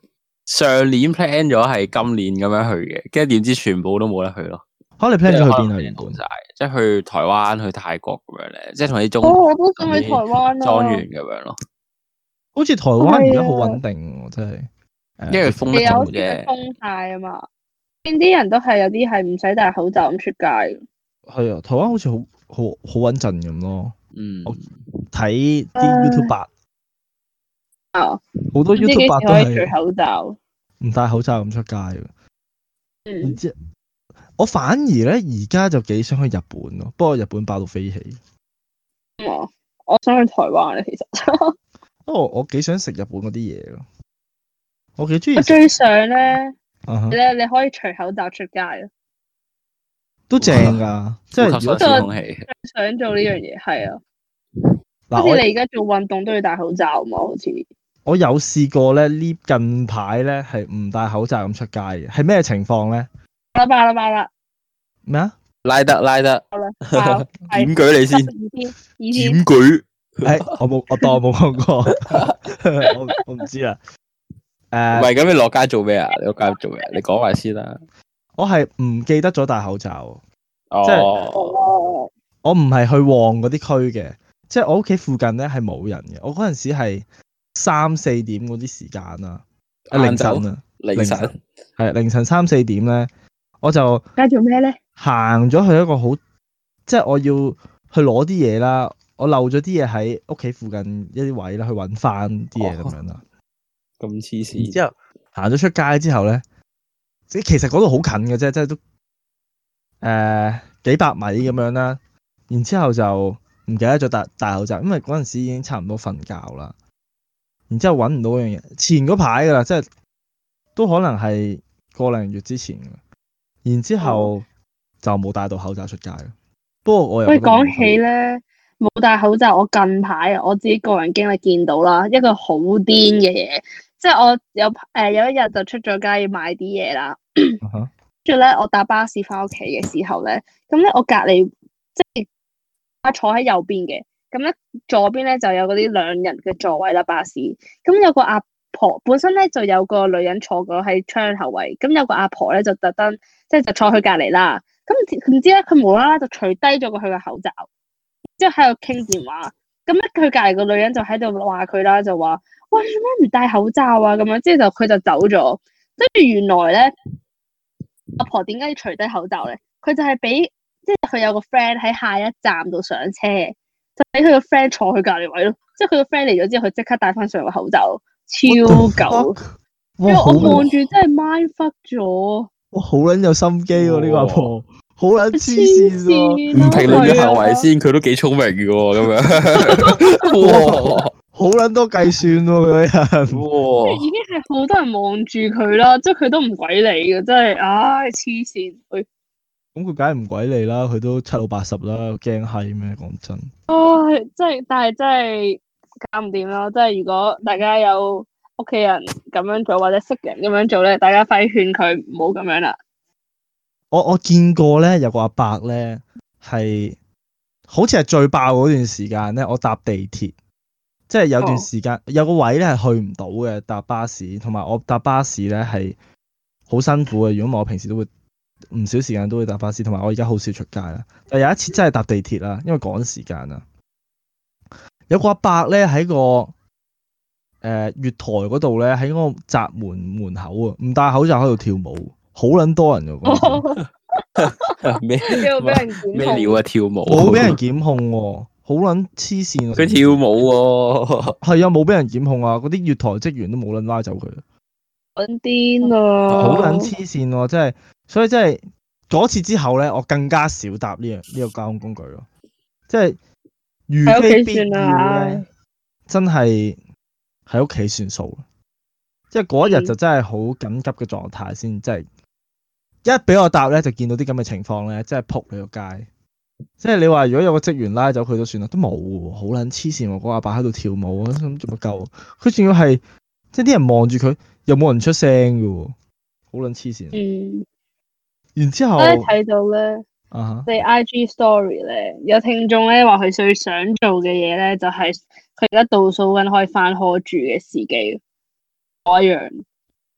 上年 plan 咗係今年咁樣去嘅，跟住點知全部都冇得去咯。 可你 plan 咗去邊啊？ 原本晒，即係去台灣、去泰國咁樣咧，即係同啲中哦，我都想去台灣啊， 莊園咁樣咯。 好似台灣而家好穩定喎，真係。 因為封得係啊，好似咗啫。 封晒啊嘛，邊啲人都係有啲係唔使戴口罩咁出街。 係啊，台灣好似好好好穩陣咁咯。 嗯， 我睇啲 YouTuber 啊， 好多唔知幾時 YouTuber 都可以除係口罩。 唔戴口罩咁出街嘅。 嗯然，之我反而咧而家就幾想去日本咯，不過日本爆到飛起。 我我想去台灣咧，其實不過我幾想食日本嗰啲嘢咯，我幾中意食。 我最想咧， 啊哈咧你可以除口罩出街咯。 都正㗎，即係如果呼吸新鮮空氣。 最想做呢樣嘢係啊， 嗱我好似你而家做運動都要戴口罩嘛，好似。 我有試過咧，呢近排咧係唔戴口罩咁出街嘅，係咩情況咧？ 啦吧啦吧啦， 咩啊？ 拉得拉得， 好啦，爆係檢舉你先， 二天二天檢舉。 誒，我冇，我當我冇講過，我我唔知啦。 唔誒， 係咁，你落街做咩啊？你落街做咩？你講埋先啦。 我係唔記得咗戴口罩，即哦， 哦， 我唔係去旺嗰啲區嘅，即係我屋企附近咧係冇人嘅。我嗰陣時係三四點嗰啲時間啊，啊凌晨啊， 凌晨係凌晨三四點咧，我就而家做咩咧？ 行咗去一個好，即係我要去攞啲嘢啦，我漏咗啲嘢喺屋企附近一啲位啦，去揾翻啲嘢咁樣啦。 咁黐然線。 之後行咗出街之後咧，即其實嗰度好近嘅啫，即係都誒、呃、幾百米咁樣啦。然之後就唔記得咗戴戴口罩，因為嗰陣時已經差唔多瞓覺啦。然之後揾唔到嗰樣嘢，前嗰排噶啦，即係都可能係個零月之前嘅。然之後就冇戴到口罩出街。不過我又喂， 覺得唔講起咧冇戴口罩，我近排啊，我自己個人經歷見到啦，一個好癲嘅嘢，即係我有誒、呃、有一日就出咗街要買啲嘢啦， 啊哈跟住咧我搭巴士翻屋企嘅時候咧，咁咧我隔離即係我坐喺右邊嘅，咁咧左邊咧就有嗰啲兩人嘅座位啦，巴士，咁有個阿婆本身咧就有個女人坐過喺窗口位，咁有個阿婆咧就特登即係就坐佢隔離啦。咁唔知咧，佢無啦啦就除低咗個佢嘅口罩，之後喺度傾電話。咁咧，佢隔離個女人就喺度話佢啦，就話：喂，你做咩唔戴口罩啊？咁樣，之後就佢就走咗。跟住原來咧，阿婆點解要除低口罩咧？佢就係俾即係佢有個 friend 喺下一站度上車，就俾佢個 friend 坐佢隔離位咯。即係佢個 friend 嚟咗之後，佢即刻戴翻上個口罩，超狗。因為我望住真係 mind fuck 咗。 哇，好撚有心機喎！呢個阿婆好撚黐線喎， 唔評論嘅行為先，佢都幾聰明嘅喎，咁樣。哇， 好撚多計算喎佢個人。 哇， 已經係好多人望住佢啦，即係佢都唔鬼理嘅，真係，唉，黐線。喂， 咁佢梗係唔鬼理啦，佢都七老八十啦，驚閪咩？講真。 唉，真係，但係真係搞唔掂咯。即係如果大家有屋企人咁樣做，或者識人咁樣做咧，大家快啲勸佢唔好咁樣啦。 我我見過咧，有個阿伯咧係好似係最爆嗰段時間咧，我搭地鐵，即係有段時間、哦、有個位咧係去唔到嘅，搭巴士，同埋我搭巴士咧係好辛苦嘅。如果唔係我平時都會唔少時間都會搭巴士，同埋我而家好少出街啦。但有一次真係搭地鐵啦，因為趕時間啊。有個阿伯咧喺個誒、呃、月台嗰度咧，喺嗰個閘門門口啊，唔戴口罩喺度跳舞。好撚多人㗎， 咩咩料啊？跳舞冇俾人檢控喎，好撚黐線。 佢跳舞喎， 係啊，冇俾人檢控啊！嗰啲月台職員都冇撚拉走佢。 撚癲啊！ 好撚黐線喎，真係，所以真係嗰次之後咧，我更加少搭呢樣呢個交通工具咯。即係如非必要咧，真係喺屋企算數。即係嗰日就真係好緊急嘅狀態先，即係。一俾我搭咧，就見到啲咁嘅情況咧，真係撲你個街。即係你話如果有個職員拉走佢都算啦，都冇喎，好撚黐線喎！嗰個阿伯喺度跳舞，咁做乜鳩？佢仲要係即係啲人望住佢，又冇人出聲嘅喎，好撚黐線。嗯。然之後，我睇到咧， 啊， 你 I G story 咧，有聽眾咧話佢最想做嘅嘢咧，就係佢而家倒數緊可以返學住嘅時機，我一樣。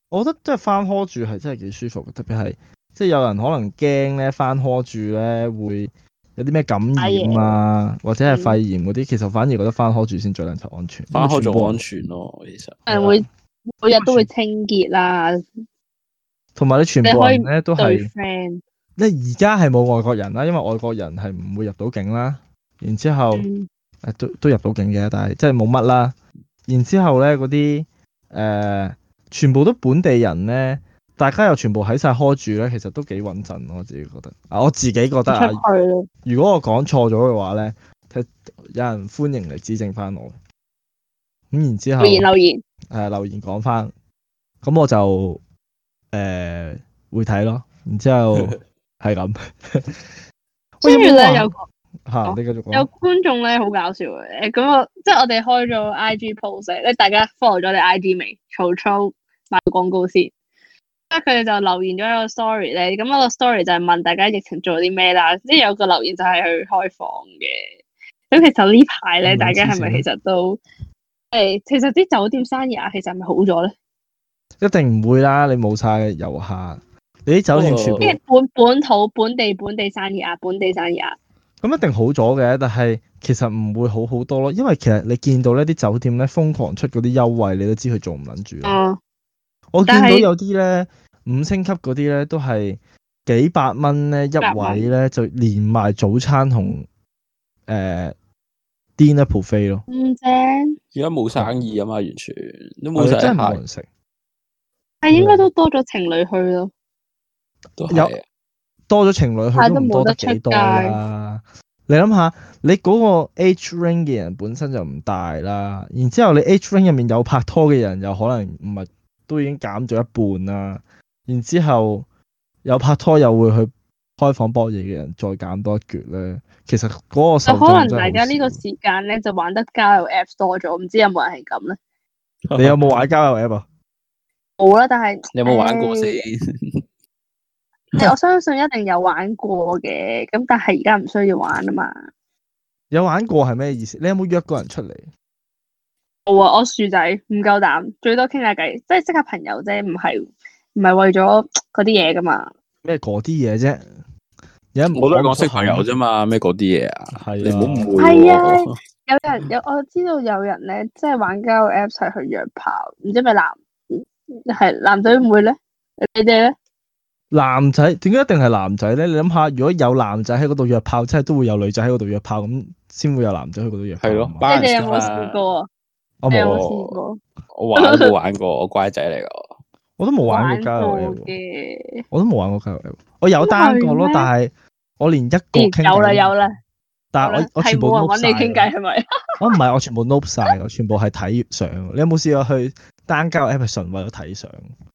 我覺得即係翻 hall 住係真係幾舒服嘅，特別係即係有人可能驚咧翻 hall 住咧會有啲咩感染啊，或者係肺炎嗰啲，其實反而覺得翻 hall 住先最撚頭安全。 翻 hall 仲安全咯，其實。 係會每日都會清潔啦， 同埋你全部人咧都係， friend。 你而家係冇外國人啦，因為外國人係唔會入到境啦。然之後誒、嗯、都都入到境嘅，但係即係冇乜啦。然之後咧嗰啲誒全部都本地人咧，大家又全部喺晒 hall 住咧，其實都幾穩陣咯。我自己覺得啊，我自己覺得啊，如果我講錯咗嘅話咧，有人歡迎嚟指正翻我。咁然之後留言留言誒留言講翻，咁我就誒、呃、會睇咯。然之後係咁。 跟住咧有嚇，你繼續講。 有觀眾咧好搞笑嘅，誒咁我即係我哋開咗 I G post 咧，大家 follow 咗你 I G 未？曹操賣廣告先。咁佢哋就留言咗一個 story 咧，咁嗰個 story 就係問大家疫情做啲咩啦。即係有個留言就係去開房嘅。咁其實呢排咧，大家係咪其實都誒？其實啲酒店生意啊，其實係咪好咗咧？ 一定唔會啦！你冇晒遊客，你啲酒店全部即係本本土本地本地生意啊，本地生意啊。 咁一定好咗嘅，但係其實唔會好好多咯，因為其實你見到呢啲酒店咧瘋狂出嗰啲優惠，你都知佢做唔撚住。 嗯。 我見到有啲咧五星級嗰啲咧都係幾百蚊咧一位咧，就連埋早餐同誒 dinner buffet 咯。 咁正。 而家冇生意啊嘛，完全都冇晒， 真係冇人食。 係應該都多咗情侶去咯。 有多咗情侶去都唔多得幾多啦。你諗下，你嗰個 age range 嘅人本身就唔大啦，然之後你 age range 入面有拍拖嘅人又可能唔係都已經減咗一半啦，然之後有拍拖又會去開房博嘢嘅人再減多一橛咧，其實嗰個受眾真係好少。 可能大家呢個時間咧就玩得交友 Apps 多咗，唔知有冇人係咁咧？ 你有冇玩交友 App 啊？ 冇啦，但係你有冇玩過先？ 我相信一定有玩過嘅，咁但係而家唔需要玩啊嘛。 有玩過係咩意思？你有冇約過人出嚟？ 冇啊，我薯仔唔夠膽，最多傾下偈，即係識下朋友啫，唔係唔係為咗嗰啲嘢噶嘛。 咩嗰啲嘢啫？ 我都係講識朋友啫嘛，咩嗰啲嘢啊？係你唔好誤會。 係啊，有人有我知道有人咧，即係玩交友 Apps 係去約炮，唔知係咪男係男仔唔會咧？你哋咧？ 男仔點解一定係男仔咧？你諗下，如果有男仔喺嗰度約炮，即係都會有女仔喺嗰度約炮，咁先會有男仔去嗰度約炮。係咯， 你哋有冇試過啊？ 我冇試過。 我玩都冇玩過，我乖仔嚟噶。 我都冇玩過交友 App 嘅。 我都冇玩過交友 App。我有單過咯，但係我連一個傾有啦有啦。 但係我我全部 note 晒。係冇人揾你傾偈係咪？ 我唔係，我全部 note 晒，我全部係睇相。你有冇試過去單交友 App 係純為咗睇相？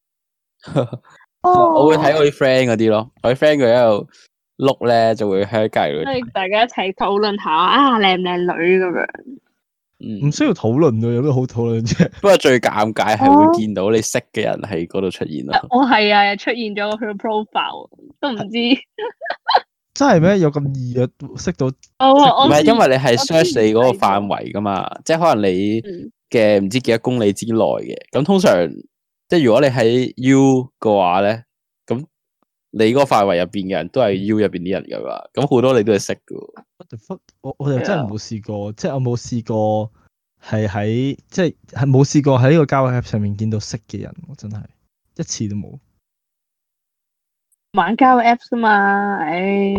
我會睇我啲 friend 嗰啲咯，我啲 friend 佢喺度碌咧，就會喺隔籬。 即係大家一齊討論下啊，靚唔靚女咁樣。 唔需要討論咯，有咩好討論啫？ 不過最尷尬係會見到你識嘅人喺嗰度出現咯。 我係啊，出現咗佢個 profile 都唔知。 真係咩？有咁易啊？識到？ 唔係因為你係 search 你嗰個範圍噶嘛，即係可能你嘅唔知幾多公里之內嘅。咁通常即係如果你喺 U 嘅話咧，咁你嗰個範圍入邊嘅人都係 U 入邊啲人噶嘛。咁好多你都係識噶。 What the fuck？我我又真係冇試過，即係我冇試過係喺即係係冇試過喺呢個交友 App 上面見到識嘅人，我真係一次都冇。 玩交友 Apps 噶嘛，唉。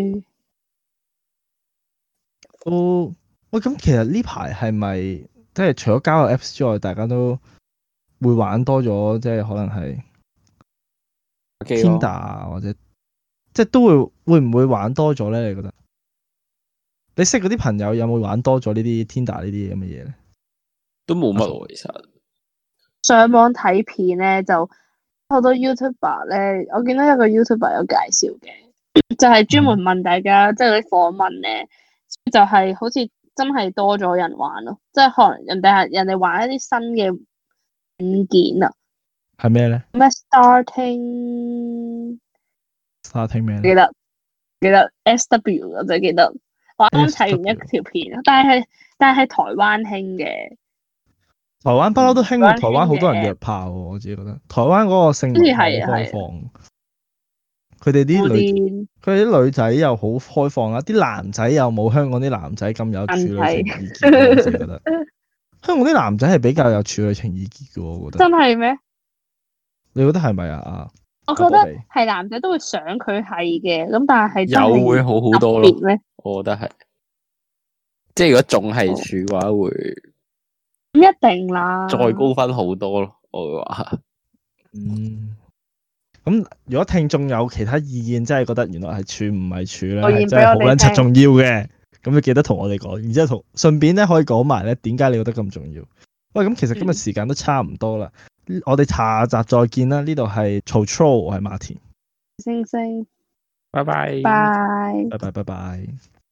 哦，喂，咁其實呢排係咪即係除咗交友 Apps 之外，大家都會玩多咗，即係可能係 Tinder 啊，或者即係都會會唔會玩多咗咧？你覺得？你識嗰啲朋友有冇玩多咗呢啲 Tinder 呢啲咁嘅嘢咧？ 都冇乜喎，其實。 上網睇片咧，就好多 YouTuber 咧，我見到有個 YouTuber 有介紹嘅，就係、是、專門問大家，嗯、即係啲訪問咧，就係、是、好似真係多咗人玩咯，即係可能人哋係人哋玩一啲新嘅軟件啊。 係咩咧？ 咩 Starting Starting 咩？ 記得記得 S W 我就記得。我啱啱睇完一條片，但係但係喺台灣興嘅， 台灣不嬲都興喎， 台灣台灣好多人興嘅約炮喎，我自己覺得。台灣嗰個性文化好好似係啊開放，佢哋啲嗰女， 啲佢哋啲女仔又好開放啦，啲男仔又冇香港啲男仔咁有處女情意結喎，我自己覺得。香港啲男仔係比較有處女情意結嘅喎，我覺得。 真係咩？ 你覺得係咪啊？啊， 我覺得係男仔都會想佢係嘅，咁但係真係有會好好多咯特別咩？ 我覺得係，即係如果仲係處嘅話，會唔一定啦。 再高分好多咯。我會話， 嗯。咁如果聽眾有其他意見，真係覺得原來係處唔係處咧， 留言係真係好俾我哋撚柒重要嘅，咁你記得同我哋講，然之後同順便咧可以講埋咧點解你覺得咁重要。喂，咁其實今日時間都差唔多啦， 嗯、 我哋下集再見啦。呢度係曹操，我係馬田， 星星， 拜拜， 拜。 拜拜拜拜。